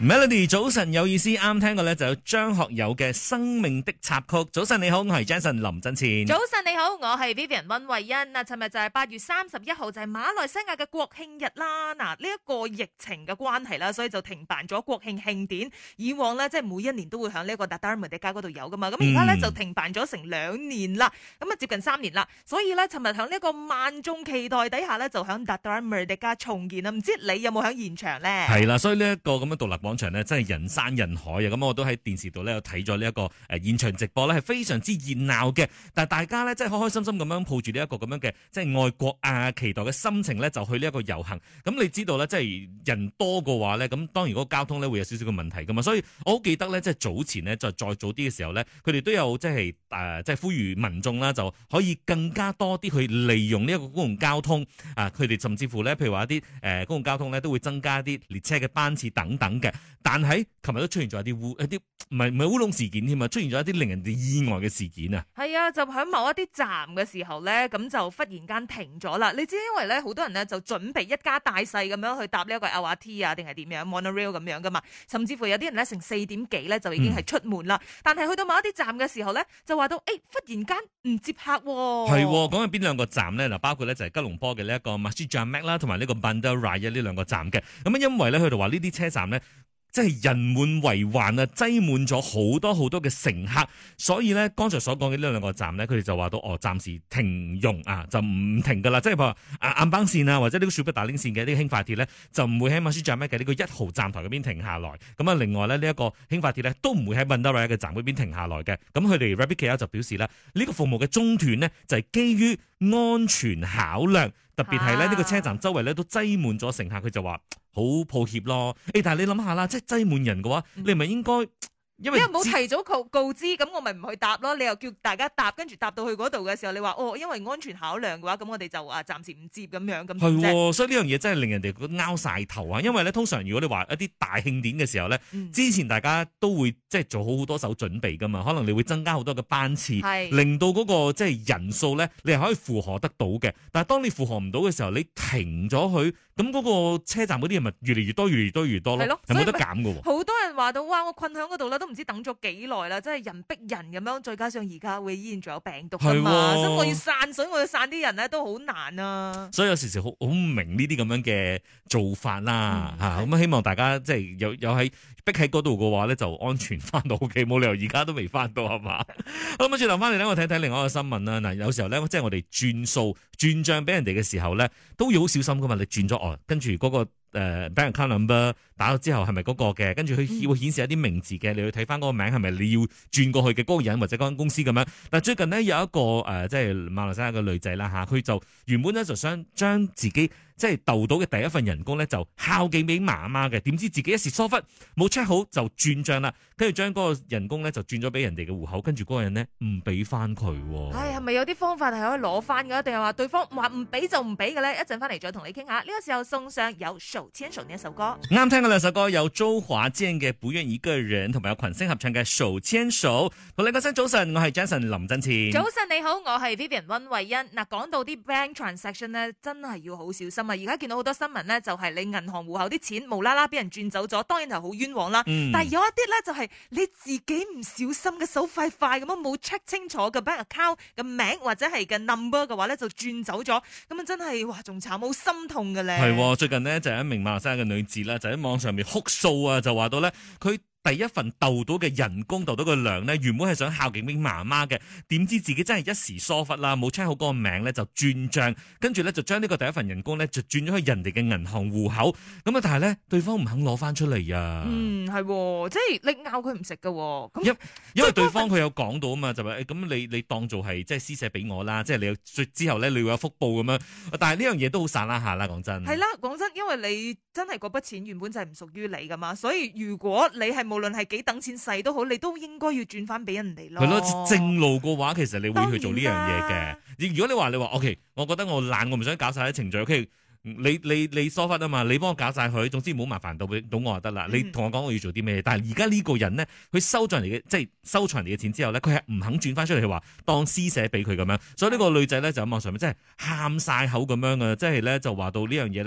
Melody 早晨有意思，啱聽過咧就有張學友嘅《生命的插曲》。早晨你好，我係 Jason 林振前。 早晨你好，我係 Vivian 溫慧欣。嗱，尋日就係8月31號，就係馬來西亞嘅國慶日啦。嗱，呢一個疫情嘅關係啦，所以就停辦咗國慶慶典。以往咧，即係每一年都會響呢一個 Dataran Merdeka嗰度有噶嘛。咁而家咧就停辦咗成2年啦，咁啊接近3年啦。所以咧，尋日響呢一個萬眾期待底下咧，就響 Dataran Merdeka重建啦。唔知你有冇響現場咧？ 係啦，所以呢一個咁樣獨立廣場咧，真係人山人海啊！咁我都喺電視度咧有睇咗呢一個現場直播咧，係非常之熱鬧嘅。但係大家咧，真係開開心心咁樣抱住呢一個咁樣嘅即係愛國啊期待嘅心情咧，就去呢一個遊行。咁你知道咧，即係人多嘅話咧，咁當然嗰個交通咧會有少少嘅問題噶嘛。所以我好記得咧，即係早前咧，再早啲嘅時候咧，佢哋都有即係即係呼籲民眾啦，就可以更加多啲去利用呢一個公共交通啊。佢哋甚至乎咧，譬如話一啲公共交通咧，都會增加啲列車嘅班次等等嘅。但係琴日都出現咗一啲唔係烏龍事件添啊，出現咗一啲令人哋意外嘅事件啊。 係啊，就喺某一啲站嘅時候咧，咁就忽然間停咗啦。你知因為咧，好多人咧就準備一家大細咁樣去搭呢一個 LRT 啊，定係點樣 Monorail 咁樣噶嘛。甚至乎有啲人咧成4點幾咧就已經係出門啦。但係去到某一啲站嘅時候咧，就話到忽然間唔接客喎。 係講緊邊兩個站咧？嗱，包括咧就係吉隆坡嘅呢一個 Masjid Jamek 啦，同埋呢個 Bandar Raya 呢兩個站嘅。咁因為咧佢哋話呢啲車站咧，即係人滿為患啊，擠滿咗好多好多嘅乘客，所以咧剛才所講嘅呢兩個站咧，佢哋就話到暫時停用啊，就唔停噶啦，即係譬如話暗邦線啊，或者呢個雪碧打領線嘅呢個輕快鐵咧，就唔會喺馬舒站嘅呢個1號站台嗰邊停下來。咁啊，另外咧呢一個輕快鐵咧都唔會喺 Bandar Raya 嘅站嗰邊停下來嘅。咁佢哋 Rapid KL 就表示啦，呢個服務嘅中斷呢，就係基於安全考量，特別係咧呢個車站周圍咧都擠滿咗乘客，佢就話好抱歉咯。但係你諗下啦，即係擠滿人嘅話，你係咪應該因為冇提早告知，咁我咪唔去搭咯。你又叫大家搭，跟住搭到去嗰度嘅時候，你話因為安全考量嘅話，咁我哋就暫時唔接咁樣咁。 係，所以呢樣嘢真係令人哋拗晒頭啊！因為咧，通常如果你話一啲大慶典嘅時候咧，之前大家都會即係做好多手準備噶嘛，可能你會增加好多嘅班次，令到嗰個即係人數咧，你係可以負荷得到嘅。但係當你負荷唔到嘅時候，你停咗佢，咁嗰個車站嗰啲人咪越嚟越多，越嚟越多越多咯，係冇得減㗎喎。 好多人話到哇，我困喺嗰度啦，都唔知等咗幾耐啦，真係人逼人咁樣，再加上而家會依然仲有病毒㗎嘛，所以我要散水，我要散啲人咧都好難啊。所以有時好唔明呢啲咁樣嘅做法啦嚇，咁希望大家即係有喺逼喺嗰度嘅話咧，就安全翻到屋企，冇理由而家都未翻到係嘛？好，咁轉頭翻嚟咧，我睇睇另外一個新聞啦。嗱，有時候咧，即係我哋轉數轉帳俾人哋嘅時候咧，都要好小心噶嘛。你轉咗跟住嗰個bank account number 打咗之後係咪嗰個嘅？跟住佢會顯示一啲名字嘅，你去睇翻嗰個名係咪你要轉過去嘅嗰個人或者嗰間公司咁樣。但最近呢，有一個即係馬來西亞嘅女仔啦嚇，佢就原本咧就想將自己即係鬥到嘅第一份人工咧就孝敬俾媽媽嘅，點知自己一時疏忽冇 check 好就轉帳啦，跟住將嗰個人工咧就轉咗俾人哋嘅戶口，跟住嗰個人呢唔俾翻佢。 係咪有啲方法係可以攞翻㗎？定係話對方話唔俾就唔俾嘅咧？一陣翻嚟再同你傾下。呢個時候送上有手牽手呢一首歌。 啱聽嘅兩首歌有周華健嘅《不願一個人》，同埋有群星合唱嘅《手牽手》。同你講聲早晨，我係 Jason 林振前。 早晨你好，我係 Vivian 溫慧欣。嗱，講到啲 bank transaction 咧，真係要好小心啊！而家見到好多新聞咧，就係你銀行戶口啲錢無啦啦俾人轉走咗，當然係好冤枉啦。但係有一啲咧就係你自己唔小心嘅手快快咁樣冇 check 清楚嘅 bank account 嘅名或者係嘅 number 嘅話咧，就轉走咗，咁啊真係哇仲慘，好心痛嘅咧。 係，最近呢，就有一名馬來西亞嘅女子啦，就喺網上面哭訴啊，就話到咧佢第一份鬥到嘅人工鬥到嘅糧呢，原本係想孝敬俾媽媽嘅，點知自己真係一時疏忽啦，冇 check 好嗰個名咧就轉帳，跟住咧就將呢個第一份人工咧就轉咗去人哋嘅銀行戶口，咁啊但係咧對方唔肯攞翻出嚟啊。 係，即係你拗佢唔食噶，咁因為對方佢有講到啊嘛，就話咁你當做係即係施捨俾我啦，即係你之後咧你會有福報咁樣，但係呢樣嘢都好散啦下啦，講真。係啦， 講真，因為你真係嗰筆錢原本就係唔屬於你噶嘛，所以如果你係無論係幾等錢細都好，你都應該要轉翻俾人哋咯。 係咯，正路嘅話，其實你會去做呢樣嘢嘅。如果你話 OK， 我覺得我懶，我唔想搞晒啲程序。OK， 你疏忽啊嘛，你幫我搞晒佢，總之唔好麻煩到我就得啦。你同我講我要做啲咩？但係而家呢個人呢，佢收咗人哋嘅即係收咗人哋嘅錢之後呢，佢係唔肯轉翻出嚟，佢話當施捨俾佢咁樣。所以呢個女仔呢，就喺網上面真係喊晒口咁樣啊！即係咧就話到呢樣嘢呢，佢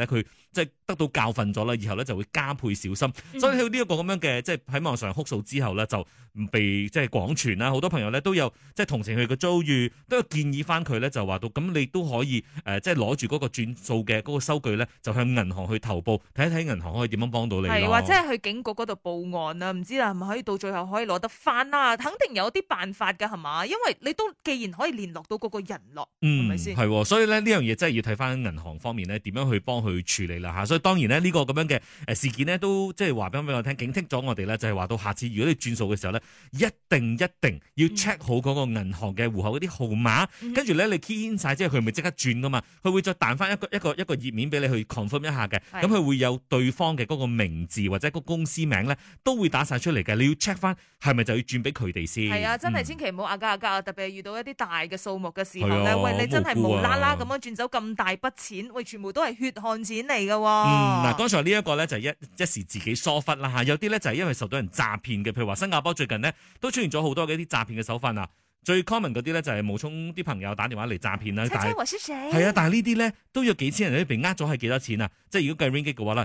即係得到教訓咗啦，以後咧就會加倍小心。所以喺呢一個咁樣嘅即係喺網上哭訴之後咧，就被即係廣傳啦。好多朋友咧都有即係同情佢嘅遭遇，都有建議翻佢咧就話到咁你都可以即係攞住嗰個轉數嘅嗰個收據咧，就向銀行去投報，睇一睇銀行可以點樣幫到你咯。 係或者係去警局嗰度報案啊？唔知啦，係咪可以到最後可以攞得翻啦？肯定有啲辦法㗎係嘛？因為你都既然可以聯絡到嗰個人咯，係咪先？ 係，所以咧呢樣嘢真係要睇翻銀行方面咧點樣去幫佢處理啦嚇。所以當然咧呢個咁樣嘅事件呢，都即係話俾我聽，警惕咗我哋咧，就係話到下次如果你轉數嘅時候咧，一定要 check 好嗰個銀行嘅戶口嗰啲號碼，跟住咧你 key in 晒之後，佢咪即刻轉噶嘛？佢會再彈翻一個頁面俾你去 confirm 一下嘅，咁佢會有對方嘅嗰個名字或者個公司名咧，都會打晒出嚟嘅。你要 check 翻係咪就要轉俾佢哋先？ 係啊，真係千祈唔好壓價，特別係遇到一啲大嘅數目嘅時候咧，喂，你真係無啦啦咁樣轉走咁大筆錢，喂，全部都係血汗錢嚟㗎喎。 嗱，剛才呢一個咧就係一時自己疏忽啦嚇，有啲咧就係因為受到人詐騙嘅，譬如話新加坡最近呢，都出現咗好多嘅一啲詐騙嘅手法啊。最 common 嗰啲咧就係冒充啲朋友打電話嚟詐騙啦，但係但係呢啲咧都有幾千人都被呃咗係幾多錢啊？即係如果計 ringgit 嘅話啦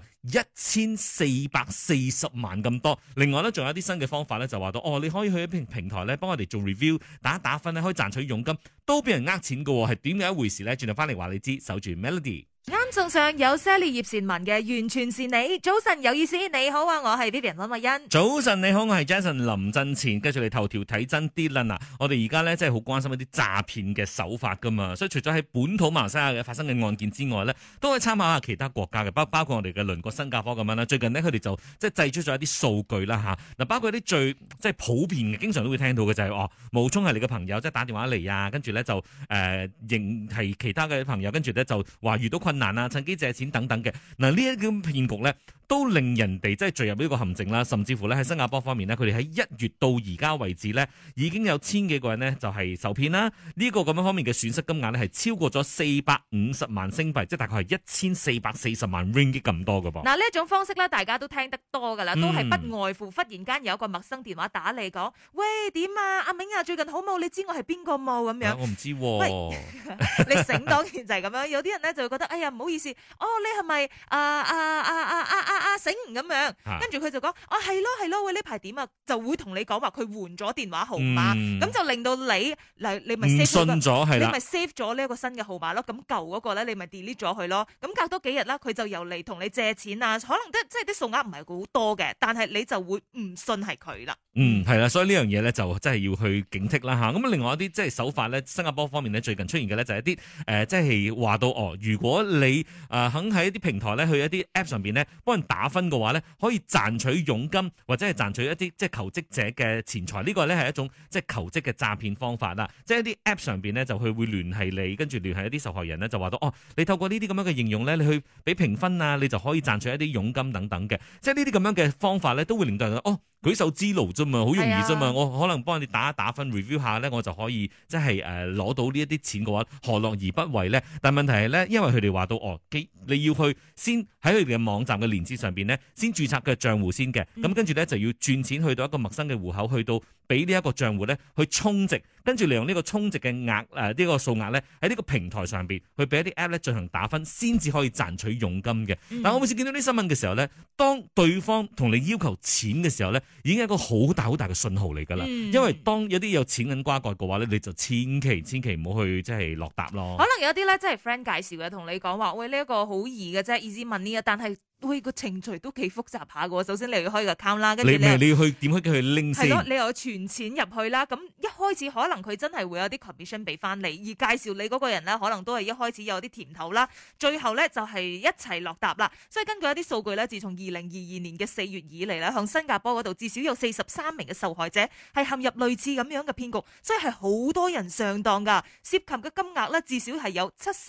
，1440萬咁多。另外咧仲有啲新嘅方法咧，就話到你可以去一啲平台咧幫我哋做 review 打分咧，可以賺取佣金，都俾人呃錢㗎喎，係點樣一回事咧？轉頭翻嚟話你知，守住 Melody。 啱送上有 Sally 葉倩文嘅完全是你。早晨有意思，你好啊，我係 Vivian 溫慧欣。 早晨你好，我係 Jason 林振前。跟住你頭條睇真啲啦嗱，我哋而家咧真係好關心一啲詐騙嘅手法噶嘛，所以除咗喺本土馬來西亞嘅發生嘅案件之外咧，都可以參考下其他國家嘅，包括我哋嘅鄰國新加坡咁樣啦。最近呢，佢哋就即係製出咗一啲數據啦吓，嗱，包括一啲最即係普遍嘅，經常都會聽到嘅就係冒充係你嘅朋友，即係打電話嚟啊，跟住咧就認係其他嘅朋友，跟住咧就話遇到困難啊，趁機借錢等等嘅。嗱，呢一啲騙局咧都令人哋即係墜入呢個陷阱啦，甚至乎咧喺新加坡方面呢，佢哋喺1月到而家為止咧，已經有千幾個人呢就係受騙啦。呢個咁樣方面嘅損失金額咧係超過咗450萬星幣，即係大概係1440萬 ringgit 咁多㗎噃。 嗱，呢一種方式咧，大家都聽得多噶啦，都係不外乎忽然間有一個陌生電話打嚟講，喂，點啊，阿明啊，最近好冇？你知我係邊個冇咁樣？ 我唔知喎。 喂，你醒當然就係咁樣。有啲人咧就會覺得，哎呀，唔好意思，你係咪醒咁樣？跟住佢就講，係咯，喂，呢排點啊？就會同你講話佢換咗電話號碼，咁就令到你咪 save 咗，你咪 save 咗呢一個新嘅號碼咯。咁舊嗰個咧，你咪 delete 咗佢咯。咁隔多幾日啦，佢就又嚟同你借錢啊，可能即係啲數額唔係好多嘅，但係你就會唔信係佢啦。 係啦，所以呢樣嘢咧就真係要去警惕啦吓。咁另外一啲即係手法咧，新加坡方面咧最近出現嘅咧就係一啲即係話到如果你肯喺一啲平台咧去一啲 app 上邊咧幫人打分嘅話咧，可以賺取佣金或者係賺取一啲即係求職者嘅錢財。呢個咧係一種即係求職嘅詐騙方法啦。即係一啲 app 上邊咧就去會聯繫你，跟住聯繫一啲受害人咧就話到你透過呢啲咁樣嘅應用咧，你去俾評分啊，你就可以賺取一啲佣金等等嘅。即係呢啲咁樣嘅方法咧，都會令到人舉手之勞啫嘛，好容易啫嘛。我可能幫你打一打分 review 下咧，我就可以即係攞到呢一啲錢嘅話，何樂而不為咧？但問題係咧，因為佢哋話到你要去先喺佢哋嘅網站嘅連結上邊咧，先註冊嘅賬戶先嘅。咁跟住咧就要轉錢去到一個陌生嘅戶口，去到俾呢一個賬戶咧去充值，跟住利用呢個充值嘅額呢個數額咧喺呢個平台上邊去俾一啲 app 咧進行打分，先至可以賺取佣金嘅。但我每次見到啲新聞嘅時候咧，當對方同你要求錢嘅時候咧，已經係一個好大好大嘅信號嚟㗎啦。因為當有啲有錢銀瓜葛嘅話咧，你就千祈唔好去即係落搭咯。 可能有啲咧即係 friend 介紹嘅，同你講話，喂，呢一個好易嘅啫 ，easy money 啊，但係個程序都幾複雜下嘅。首先你要開個 account 啦，跟住你要去點去拎先？ 係咯，你又要存錢入去啦。咁一開始可能佢真係會有啲 commission 俾翻你，而介紹你嗰個人咧，可能都係一開始有啲甜頭啦。最後咧就係一齊落搭啦。所以根據一啲數據咧，自從2022年嘅4月以嚟咧，向新加坡嗰度至少有43名嘅受害者係陷入類似咁樣嘅騙局，所以係好多人上當㗎。涉及嘅金額咧至少係有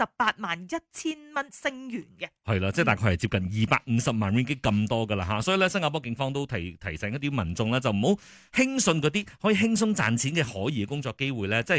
781000蚊星元嘅。係啦，即係大概係接近250萬 ringgit 咁多㗎啦嚇。所以咧，新加坡警方都提醒一啲民眾咧，就唔好輕信嗰啲可以輕鬆賺錢嘅可疑嘅工作機會咧，即係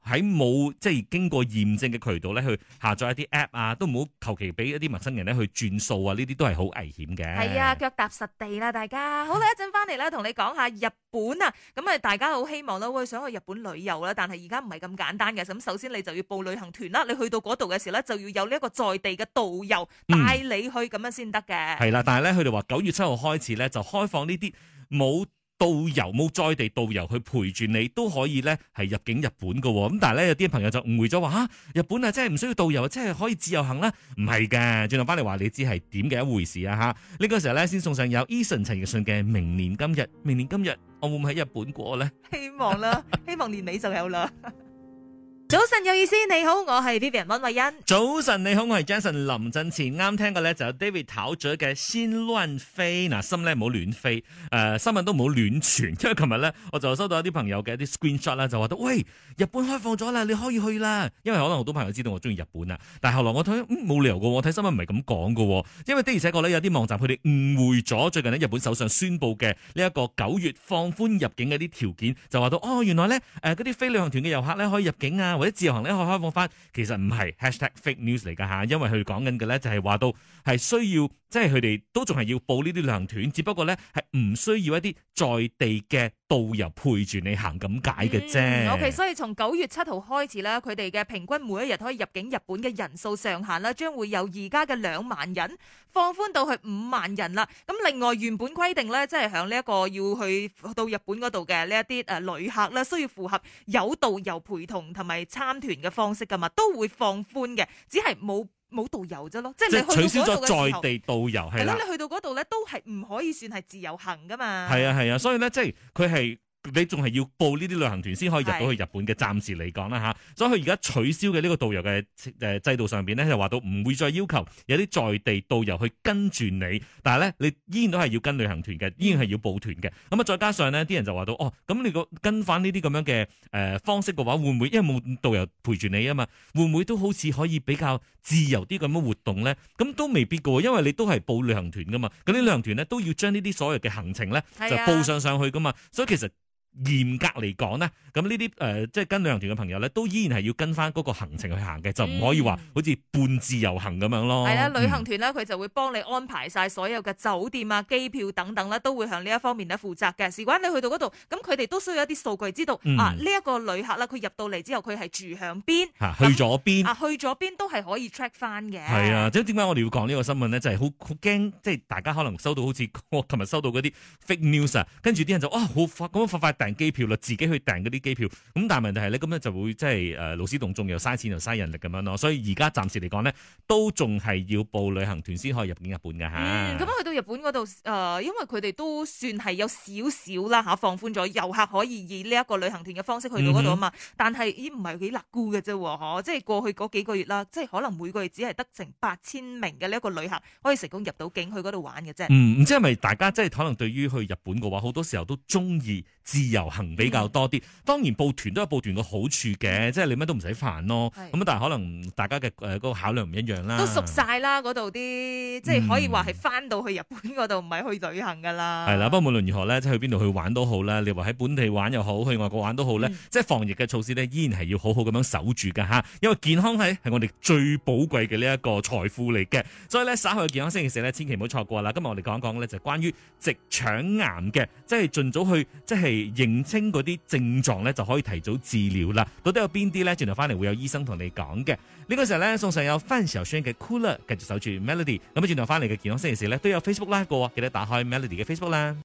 喺冇即係經過驗證嘅渠道咧去下載一啲 app 啊，都唔好求其俾一啲陌生人咧去轉數啊，呢啲都係好危險嘅。 係啊，腳踏實地啦，大家。好啦，一陣翻嚟咧，同你講下日本啊。咁啊，大家好希望啦，會想去日本旅遊啦，但係而家唔係咁簡單嘅。咁首先你就要報旅行團啦，你去到嗰度嘅時候咧，就要有呢一個在地嘅導遊帶你去，咁樣先得嘅。 係啦，但係咧，佢哋話9月7號開始咧，就開放呢啲冇導遊冇在地導遊去陪住你都可以咧係入境日本嘅喎。咁但係咧有啲朋友就誤會咗話嚇日本啊，真係唔需要導遊，即係可以自由行啦。唔係嘅，轉頭翻嚟話你知係點嘅一回事啊嚇。呢個時候咧先送上有 Eason 陳奕迅嘅明年今日，明年今日我會唔會喺日本過咧？ 希望啦，希望年尾就有啦。早晨有意思，你好，我係 Vivian 溫慧欣。 早晨你好，我係 Jason 林振前。啱聽過咧就有 David 陶喆嘅先亂飛，嗱心咧唔好亂飛，新聞都唔好亂傳。因為琴日咧我就收到一啲朋友嘅一啲 screenshot 啦，就話到喂日本開放咗啦，你可以去啦。因為可能好多朋友知道我中意日本啊，但係後來我睇冇理由嘅，我睇新聞唔係咁講嘅。因為的而且確咧有啲網站佢哋誤會咗最近咧日本首相宣布嘅呢一個9月放寬入境嘅啲條件，就話到哦原來咧嗰啲非旅行團嘅遊客咧可以入境啊。或者自由行咧可以開放翻，其實唔係 #fake news 嚟㗎嚇，因為佢講緊嘅咧就係話到係需要，即係佢哋都仲係要報呢啲旅行團，只不過咧係唔需要一啲在地嘅導遊陪住你行咁解嘅啫。 OK， 所以從9月7號開始咧，佢哋嘅平均每一日可以入境日本嘅人數上限啦，將會由而家嘅2萬人放寬到去5萬人啦。咁另外原本規定咧，即係響呢一個要去到日本嗰度嘅呢一啲旅客咧，需要符合有導遊陪同同埋參團嘅方式噶嘛，都會放寬嘅，只係冇導遊啫咯。即係你去到取消咗嗰度嘅時候在地導遊係啦， 你去到嗰度咧都係唔可以算係自由行噶嘛。 係啊，所以咧即係佢係。你仲係要報呢啲旅行團先可以入到去日本嘅，暫時嚟講啦嚇。所以佢而家取消嘅呢個導遊嘅制度上邊咧，就話到唔會再要求有啲在地導遊去跟住你，但係咧你依然都係要跟旅行團嘅，依然係要報團嘅。咁啊，再加上呢啲人就話到哦，咁你個跟翻呢啲咁樣嘅方式嘅話，會唔會因為冇導遊陪住你啊嘛？會唔會都好似可以比較自由啲咁樣活動咧？咁都未必嘅喎，因為你都係報旅行團噶嘛。咁啲旅行團咧都要將呢啲所有嘅行程咧就報上去噶嘛，所以其實。嚴格嚟講呢，咁呢啲即係跟旅行團嘅朋友咧，都依然係要跟翻嗰個行程去行嘅，就唔可以話好似半自由行咁樣咯。係啦， 旅行團咧佢就會幫你安排晒所有嘅酒店啊、機票等等啦，都會向呢一方面咧負責嘅。事關你去到嗰度，咁佢哋都需要一啲數據，知道呢一個旅客啦，佢入到嚟之後佢係住向邊， 去咗邊， 去咗邊都係可以 track 翻嘅。 係啊，即係點解我哋要講呢個新聞咧？就係好驚，即係大家可能收到好似我琴日收到嗰啲 fake news 啊，跟住啲人就好快訂機票啦，自己去訂嗰啲機票。咁但係問題係咧，咁咧就會即係勞師動眾，又嘥錢又嘥人力咁樣咯。所以而家暫時嚟講呢，都仲係要報旅行團先可以入境日本㗎嚇。 咁去到日本嗰度，因為佢哋都算係有少少啦放寬咗遊客可以以呢一個旅行團嘅方式去到嗰度啊嘛。但係唔係幾勒顧嘅啫，即係過去嗰幾個月啦，即係可能每個月只係得成8000名嘅呢一個旅客可以成功入到境去嗰度玩嘅啫。 唔知係咪大家即係可能對於去日本嘅話，好多時候都中意自由行比較多啲。當然報團都有報團嘅好處嘅，即係你乜都唔使煩咯。咁但係可能大家嘅嗰個考量唔一樣啦。 都熟晒啦，嗰度啲即係可以話係翻到去日本嗰度，唔係去旅行噶啦。 係啦，不過無論如何咧，即係去邊度去玩都好啦。你話喺本地玩又好，去外國玩都好咧，即係防疫嘅措施咧，依然係要好好咁樣守住噶吓。因為健康係我哋最寶貴嘅呢一個財富嚟嘅。所以咧，稍後嘅健康星期四咧，千祈唔好錯過啦。今日我哋講一講咧，就關於直腸癌嘅，即係盡早去即係認清嗰啲症狀咧，就可以提早治療啦。到底有邊啲咧？轉頭翻嚟會有醫生同你講嘅。呢個時候咧，送上有范曉萱嘅 Cooler，繼續守住 Melody。咁轉頭翻嚟嘅健康星期四咧，都有 Facebook Live 過，記得打開 Melody 嘅 Facebook 啦。